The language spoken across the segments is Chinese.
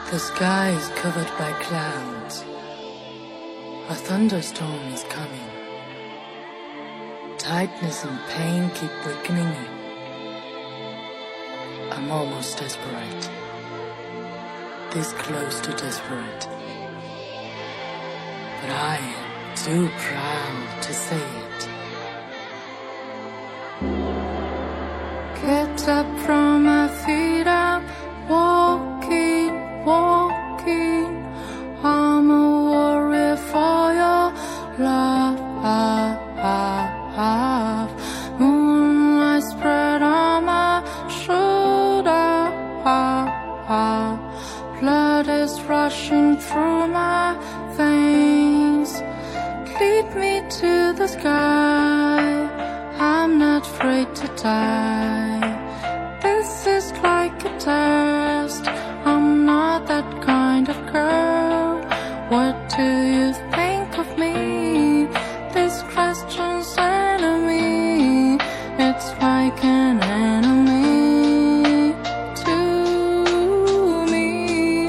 The sky is covered by clouds. A thunderstorm is coming. Tightness and pain keep weakening me. I'm almost desperate. This close to desperate. But I am too proud to say it. Get up from my feet, I'm walking. I'm a warrior for your love. Moonlight spread on my shoulder. Blood is rushing through my veins. Lead me to the sky. I'm not afraid to die. This is like a test. I'm not that kind of girl. What do you think of me? This question's enemy. It's like an enemy to me.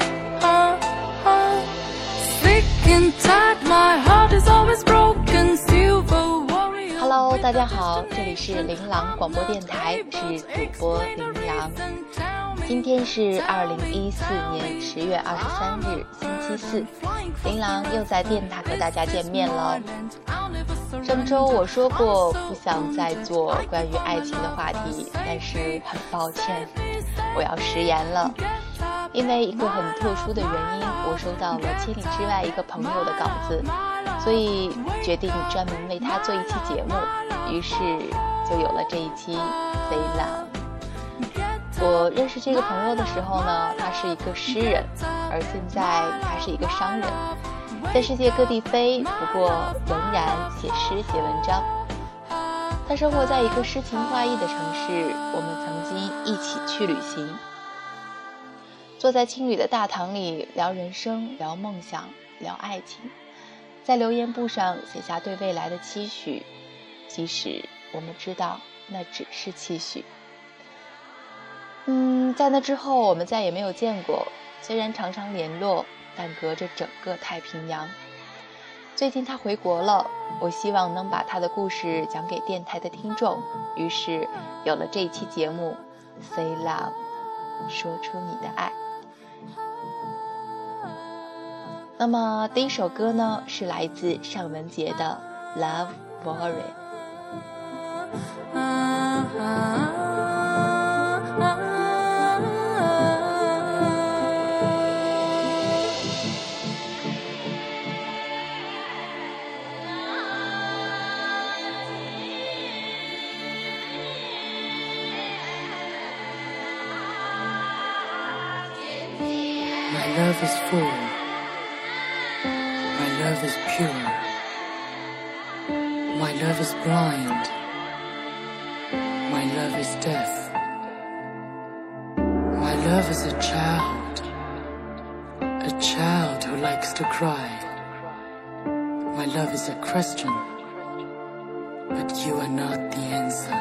Sick and tired, my heart is always broken. Silver warrior. Hello， 大家好，这里是琳琅广播电台，是主播琳琅。今天是2014年10月23日，星期四，琳琅又在电台和大家见面了。上周我说过不想再做关于爱情的话题，但是很抱歉，我要食言了。因为一个很特殊的原因，我收到了千里之外一个朋友的稿子，所以决定专门为他做一期节目，于是就有了这一期 Say Love。我认识这个朋友的时候呢，他是一个诗人，而现在他是一个商人，在世界各地飞，不过仍然写诗写文章。他生活在一个诗情画意的城市，我们曾经一起去旅行，坐在青旅的大堂里聊人生，聊梦想，聊爱情，在留言簿上写下对未来的期许，即使我们知道那只是期许。在那之后我们再也没有见过，虽然常常联络，但隔着整个太平洋。最近他回国了，我希望能把他的故事讲给电台的听众，于是有了这一期节目 Say Love， 说出你的爱。那么第一首歌呢，是来自尚雯婕的 Love Worry。My love is full. My love is pure. My love is blind. My love is deaf. My love is a child who likes to cry. My love is a question, but you are not the answer.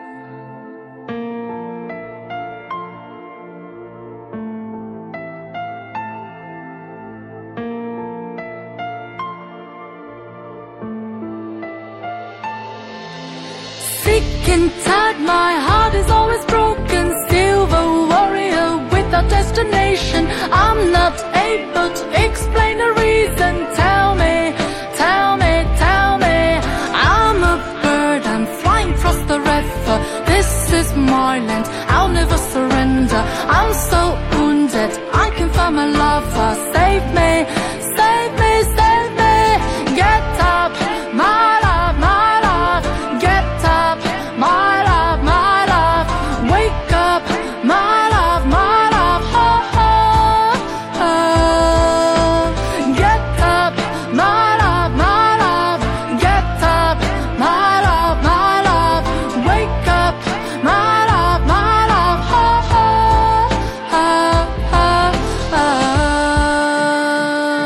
Sick and tired, my heart is always broken. Silver warrior without destination. I'm not able to explain the reason. Tell me, tell me, tell me. I'm a bird, I'm flying across the river. This is my land, I'll never surrender. I'm so wounded, I can find my lover. Save me, save me, save me. Get up, my love, my love. Get up, my love, my love. Wake up, my love, my love. Oh, oh, oh. Get up, my love, my love. Get up, my love, my love. Wake up, my love, my love. Oh, oh, oh, oh, oh.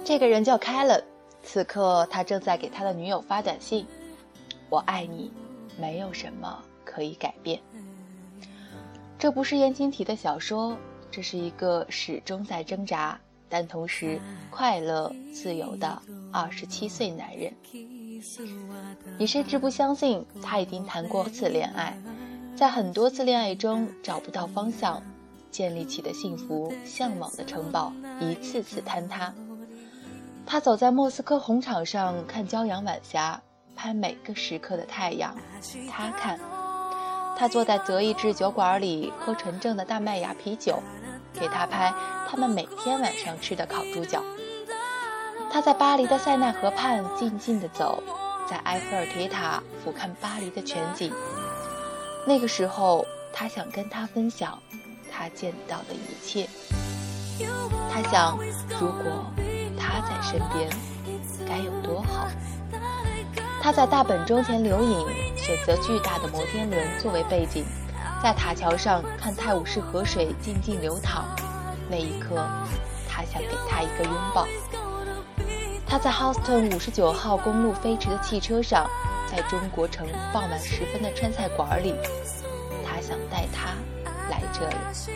这个人叫凯伦，此刻他正在给他的女友发短信：我爱你，没有什么可以改变。这不是言情体的小说，这是一个始终在挣扎但同时快乐自由的27岁男人。你甚至不相信他已经谈过多次恋爱，在很多次恋爱中找不到方向，建立起的幸福向往的城堡一次次坍塌。他走在莫斯科红场上看骄阳晚霞，拍每个时刻的太阳。他看，他坐在德意志酒馆里喝纯正的大麦芽啤酒，给他拍他们每天晚上吃的烤猪脚。他在巴黎的塞纳河畔静静地走，在埃菲尔铁塔俯瞰巴黎的全景。那个时候他想跟他分享他见到的一切。他想，如果他在身边该有多好。他在大本钟前留影，选择巨大的摩天轮作为背景，在塔桥上看泰晤士河水静静流淌。那一刻他想给他一个拥抱。他在 Houston 59号公路飞驰的汽车上，在中国城傍晚时分的川菜馆里，他想带他来这里。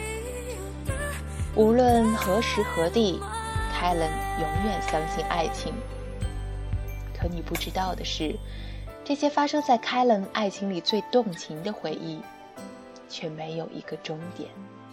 无论何时何地，凯伦永远相信爱情。可你不知道的是，这些发生在凯伦爱情里最动情的回忆，却没有一个终点。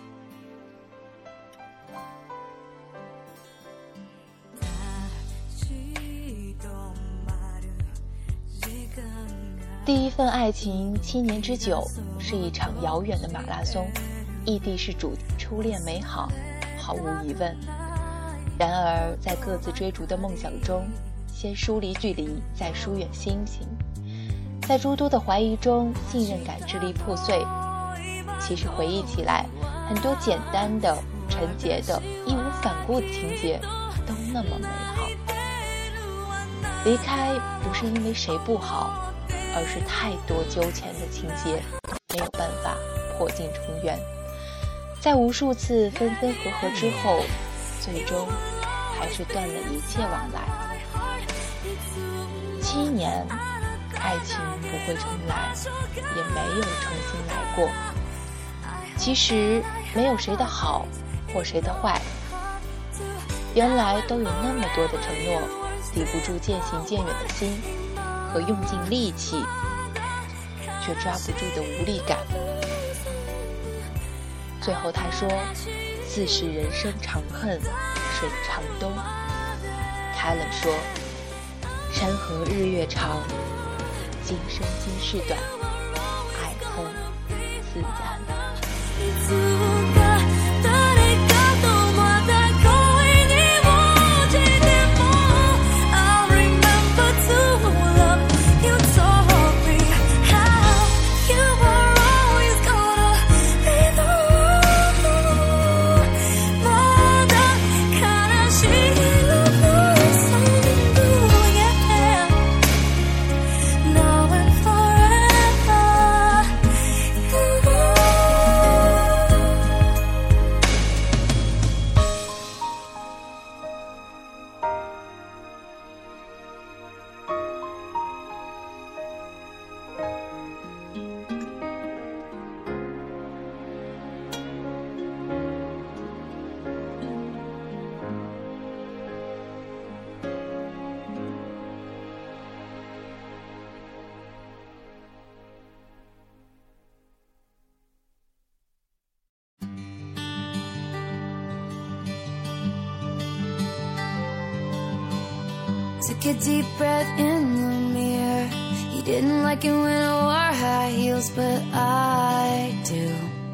第一份爱情7年之久，是一场遥远的马拉松，异地是主，初恋美好，毫无疑问。然而在各自追逐的梦想中，先疏离距离，再疏远心情，在诸多的怀疑中，信任感支离破碎。其实回忆起来，很多简单的、纯洁的、义无反顾的情节都那么美好。离开不是因为谁不好，而是太多纠缠的情节没有办法破镜重圆。在无数次分分合合之后，最终还是断了一切往来。7年，爱情不会重来，也没有重新来过。其实没有谁的好或谁的坏，原来都有那么多的承诺，抵不住渐行渐远的心和用尽力气却抓不住的无力感。最后他说，自是人生长恨水长东。凯伦说，山河日月长，今生今世短，爱恨自然。 Took a deep breath in the mirror. He didn't like it when I wore high heels, but I do.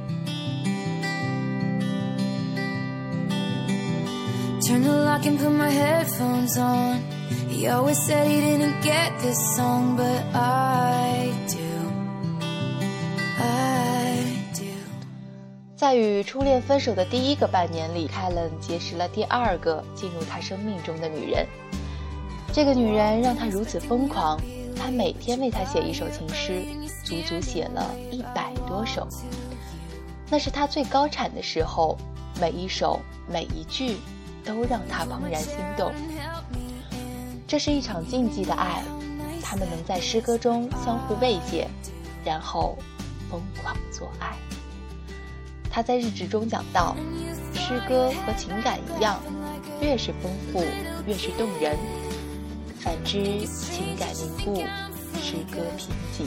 Turned the lock and put my headphones on. He always said he didn't get this song, but I do. I do. 在与初恋分手的第1个半年里，凯伦结识了第2个进入他生命中的女人。这个女人让他如此疯狂，他每天为她写一首情诗，足足写了100多首。那是他最高产的时候，每一首每一句都让他怦然心动。这是一场禁忌的爱，他们能在诗歌中相互慰藉，然后疯狂做爱。他在日志中讲到，诗歌和情感一样，越是丰富越是动人，反之情感凝固，诗歌贫瘠。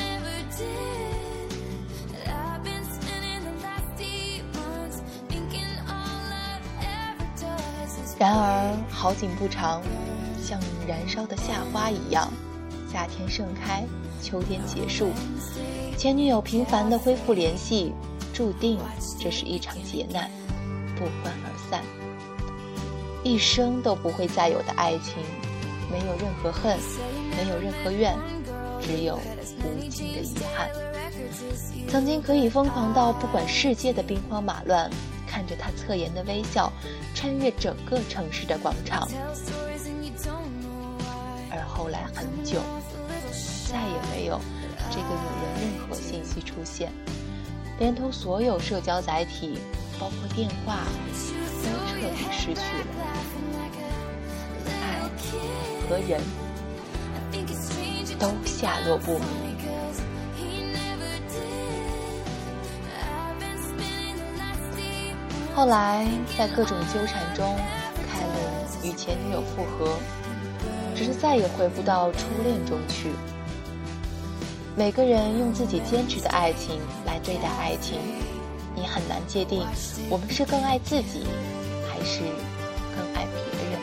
然而好景不长，像燃烧的夏花一样，夏天盛开，秋天结束，前女友频繁地恢复联系，注定这是一场劫难，不欢而散。一生都不会再有的爱情，没有任何恨，没有任何怨，只有无尽的遗憾。曾经可以疯狂到不管世界的兵荒马乱，看着他侧颜的微笑穿越整个城市的广场，而后来很久再也没有这个女人任何信息出现，连同所有社交载体包括电话都彻底失去了。爱和人都下落不明。后来在各种纠缠中，凯伦与前女友复合，只是再也回不到初恋中去。每个人用自己坚持的爱情来对待爱情，你很难界定我们是更爱自己还是更爱别人。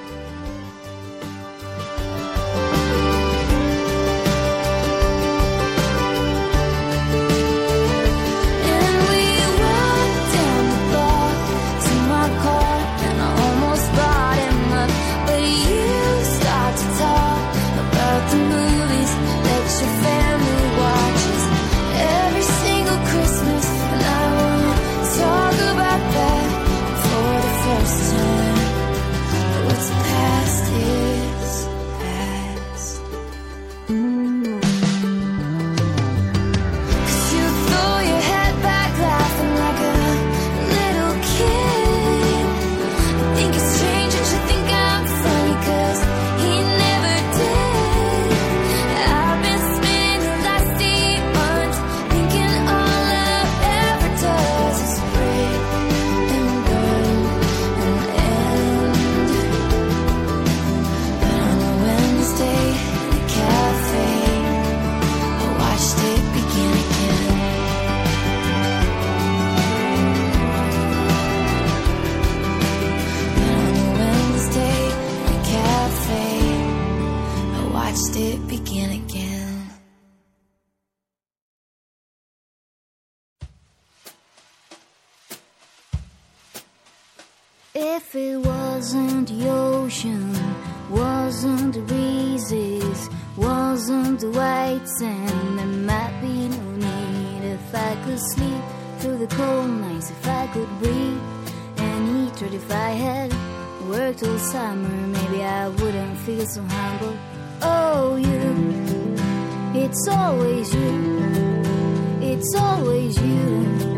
If it wasn't the ocean, wasn't the breezes, wasn't the white sand, there might be no need. If I could sleep through the cold nights, if I could breathe and eat, or if I had worked all summer, maybe I wouldn't feel so humble. Oh, you, it's always you, it's always you.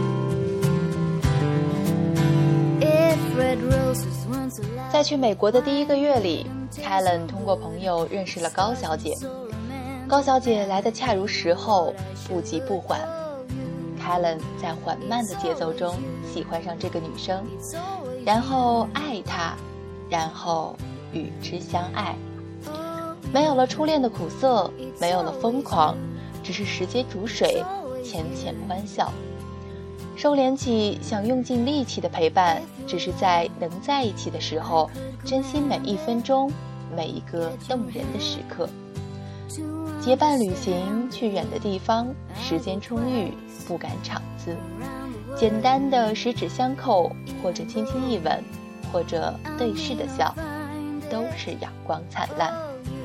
在去美国的第一个月里，凯伦通过朋友认识了高小姐。高小姐来得恰如时候，不急不缓。凯伦在缓慢的节奏中喜欢上这个女生，然后爱她，然后与之相爱。没有了初恋的苦涩，没有了疯狂，只是时间煮水，浅浅欢笑。收敛起想用尽力气的陪伴，只是在能在一起的时候，珍惜每一分钟，每一个动人的时刻。结伴旅行，去远的地方，时间充裕，不赶场子。简单的十指相扣，或者轻轻一吻，或者对视的笑，都是阳光灿烂。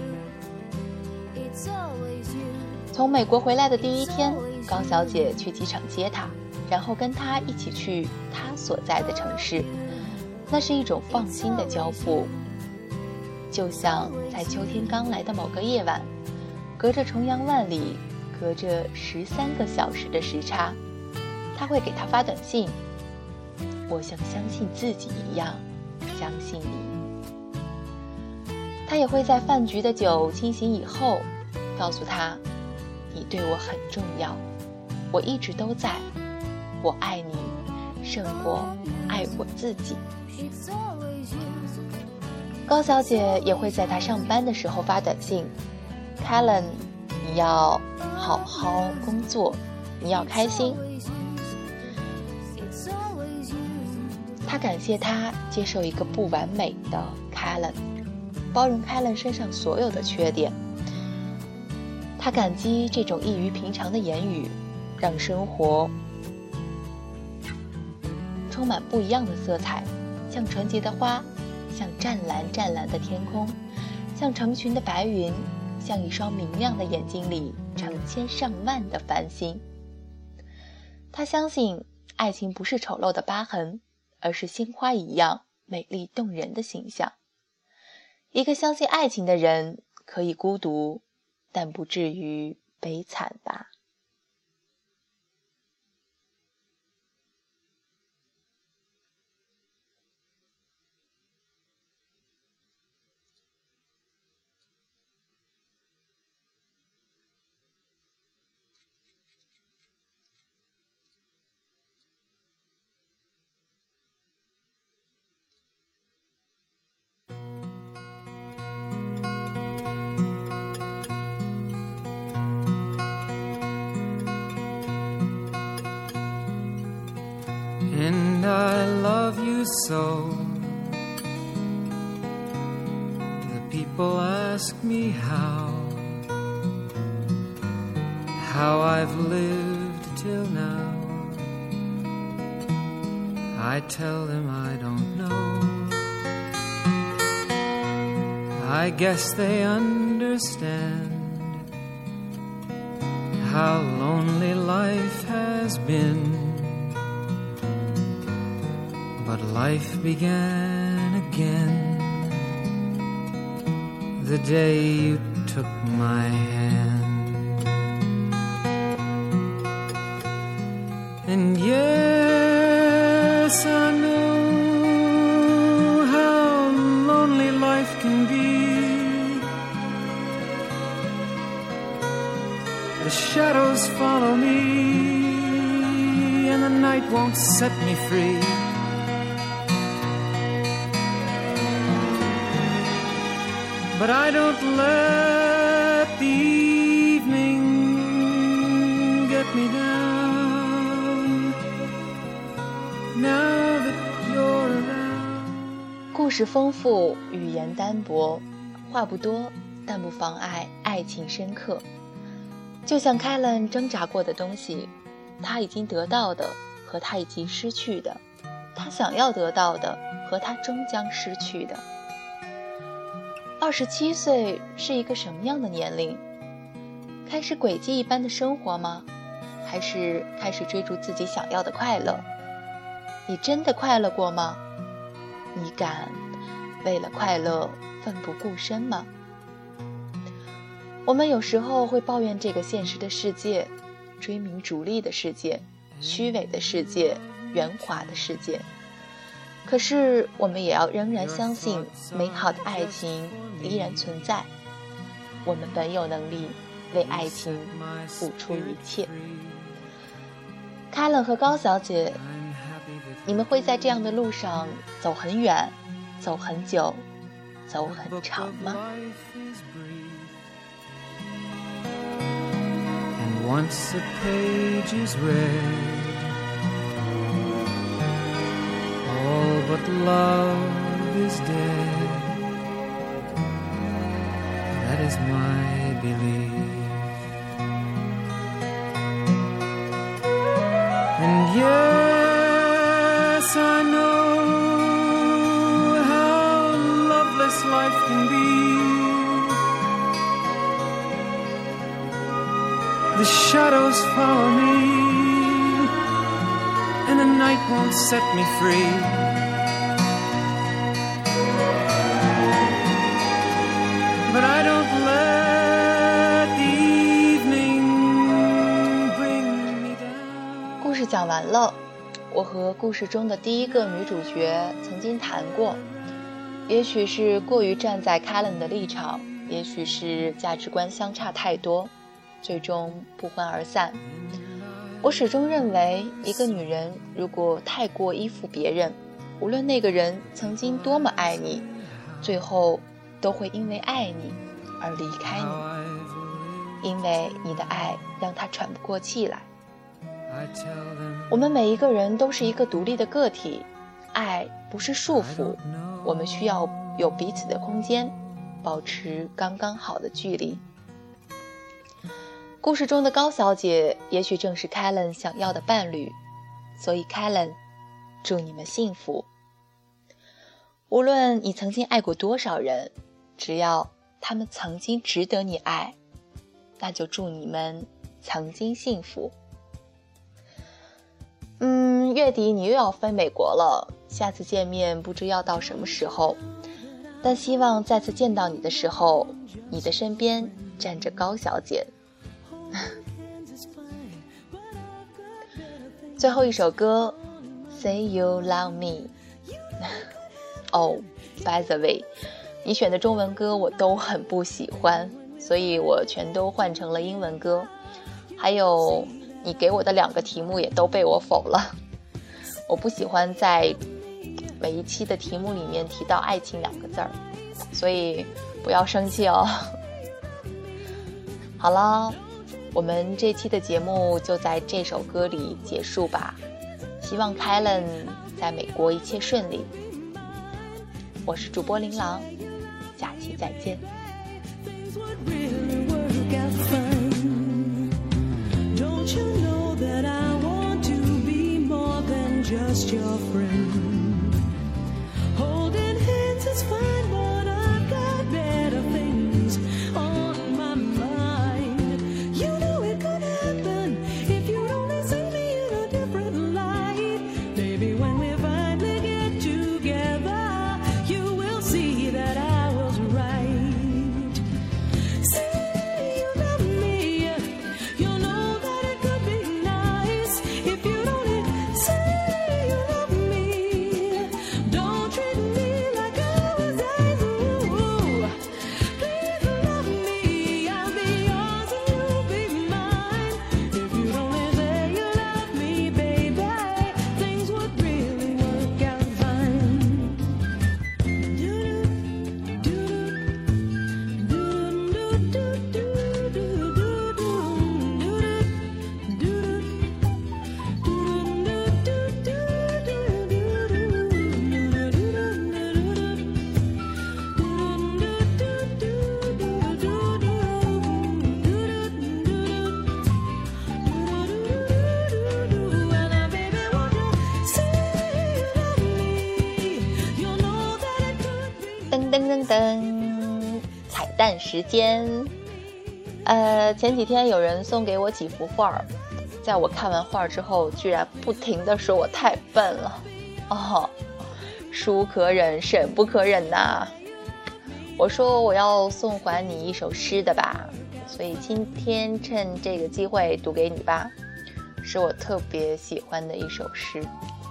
从美国回来的第一天，高小姐去机场接他，然后跟他一起去他所在的城市。那是一种放心的交付，就像在秋天刚来的某个夜晚，隔着重洋万里，隔着13个小时的时差，他会给他发短信，我像相信自己一样相信你。他也会在饭局的酒清醒以后告诉他，你对我很重要，我一直都在，我爱你胜过爱我自己。高小姐也会在他上班的时候发短信， Callan 你要好好工作，你要开心。他感谢他接受一个不完美的 Callan， 包容 Callan 身上所有的缺点。他感激这种异于平常的言语，让生活充满不一样的色彩，像纯洁的花，像湛蓝湛蓝的天空，像成群的白云，像一双明亮的眼睛里成千上万的繁星。他相信爱情不是丑陋的疤痕，而是鲜花一样美丽动人的形象。一个相信爱情的人可以孤独，但不至于悲惨吧。 And I love you so. The people ask me how I've lived till now. I tell them I don't know. I guess they understand how lonely life has been.But life began again the day you took my hand. And yes, I know how lonely life can be. The shadows follow me, and the night won't set me free.But I don't let the evening get me down now that you're around. 故事丰富，语言单薄，话不多，但不妨碍爱情深刻。就像 Callan 挣扎过的东西，他已经得到的和他已经失去的，他想要得到的和他终将失去的。27岁是一个什么样的年龄？开始轨迹一般的生活吗？还是开始追逐自己想要的快乐？你真的快乐过吗？你敢为了快乐奋不顾身吗？我们有时候会抱怨这个现实的世界，追名逐利的世界，虚伪的世界，圆滑的世界。可是我们也要仍然相信美好的爱情依然存在，我们本有能力为爱情付出一切。Callan和高小姐，你们会在这样的路上走很远，走很久，走很长吗 And once a page is read,All but love is dead. That is my belief. And yes, I know how loveless life can be. The shadows follow me,And the night won't set me free. But I don't let the evening bring me down. 故事讲完了，我和故事中的第一个女主角曾经谈过， 也许是过于站在 Kellen 的立场，也许是价值观相差太多，最终不欢而散。我始终认为，一个女人如果太过依附别人，无论那个人曾经多么爱你，最后都会因为爱你而离开你，因为你的爱让他喘不过气来。我们每一个人都是一个独立的个体，爱不是束缚，我们需要有彼此的空间，保持刚刚好的距离。故事中的高小姐也许正是 Kellen 想要的伴侣，所以 Kellen， 祝你们幸福。无论你曾经爱过多少人，只要他们曾经值得你爱，那就祝你们曾经幸福。月底你又要飞美国了，下次见面不知要到什么时候，但希望再次见到你的时候，你的身边站着高小姐。最后一首歌 Say You Love Me by the way， 你选的中文歌我都很不喜欢，所以我全都换成了英文歌，还有你给我的2个题目也都被我否了。我不喜欢在每一期的题目里面提到爱情2个字儿，所以不要生气哦。好了，我们这期的节目就在这首歌里结束吧，希望 Kellen 在美国一切顺利。我是主播琳琅，下期再见。 Just your friend. Holding hands is fine, but I've got better things on my mind. You know it could happen if you only see me in a different light. Maybe when we finally get together, you will see that I was right. Say you love me, you know that it could be nice if you only say彩蛋时间。前几天有人送给我几幅画，在我看完画之后居然不停地说我太笨了。书可忍审不可忍呐。我说我要送还你一首诗的吧，所以今天趁这个机会读给你吧，是我特别喜欢的一首诗。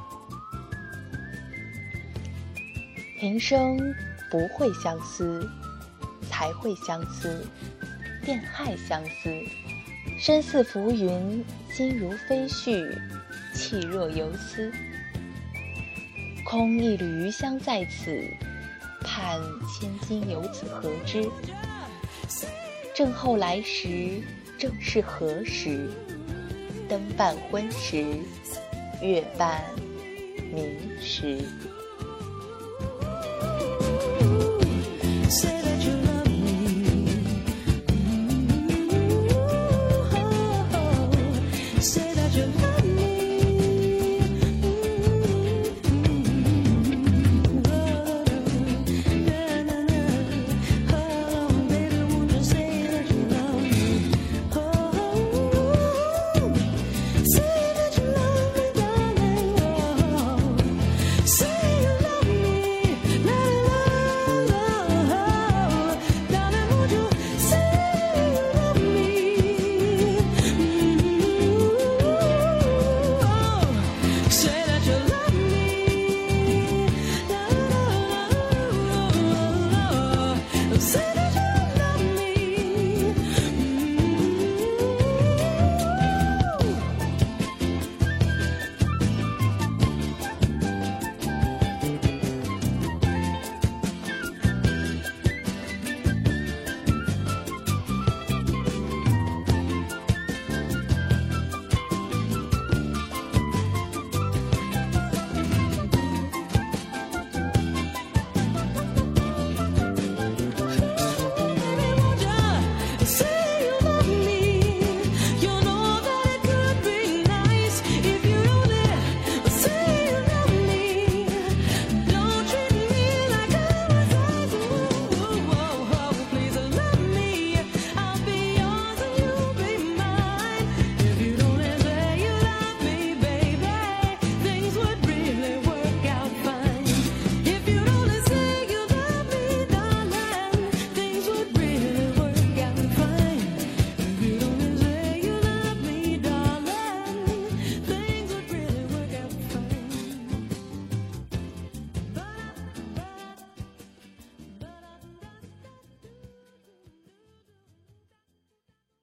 平生不会相思，才会相思，便害相思。身似浮云，心如飞絮，气若游丝。空一缕余香在此，盼千金由此何之？正后来时，正是何时？灯半昏时，月半明时。Say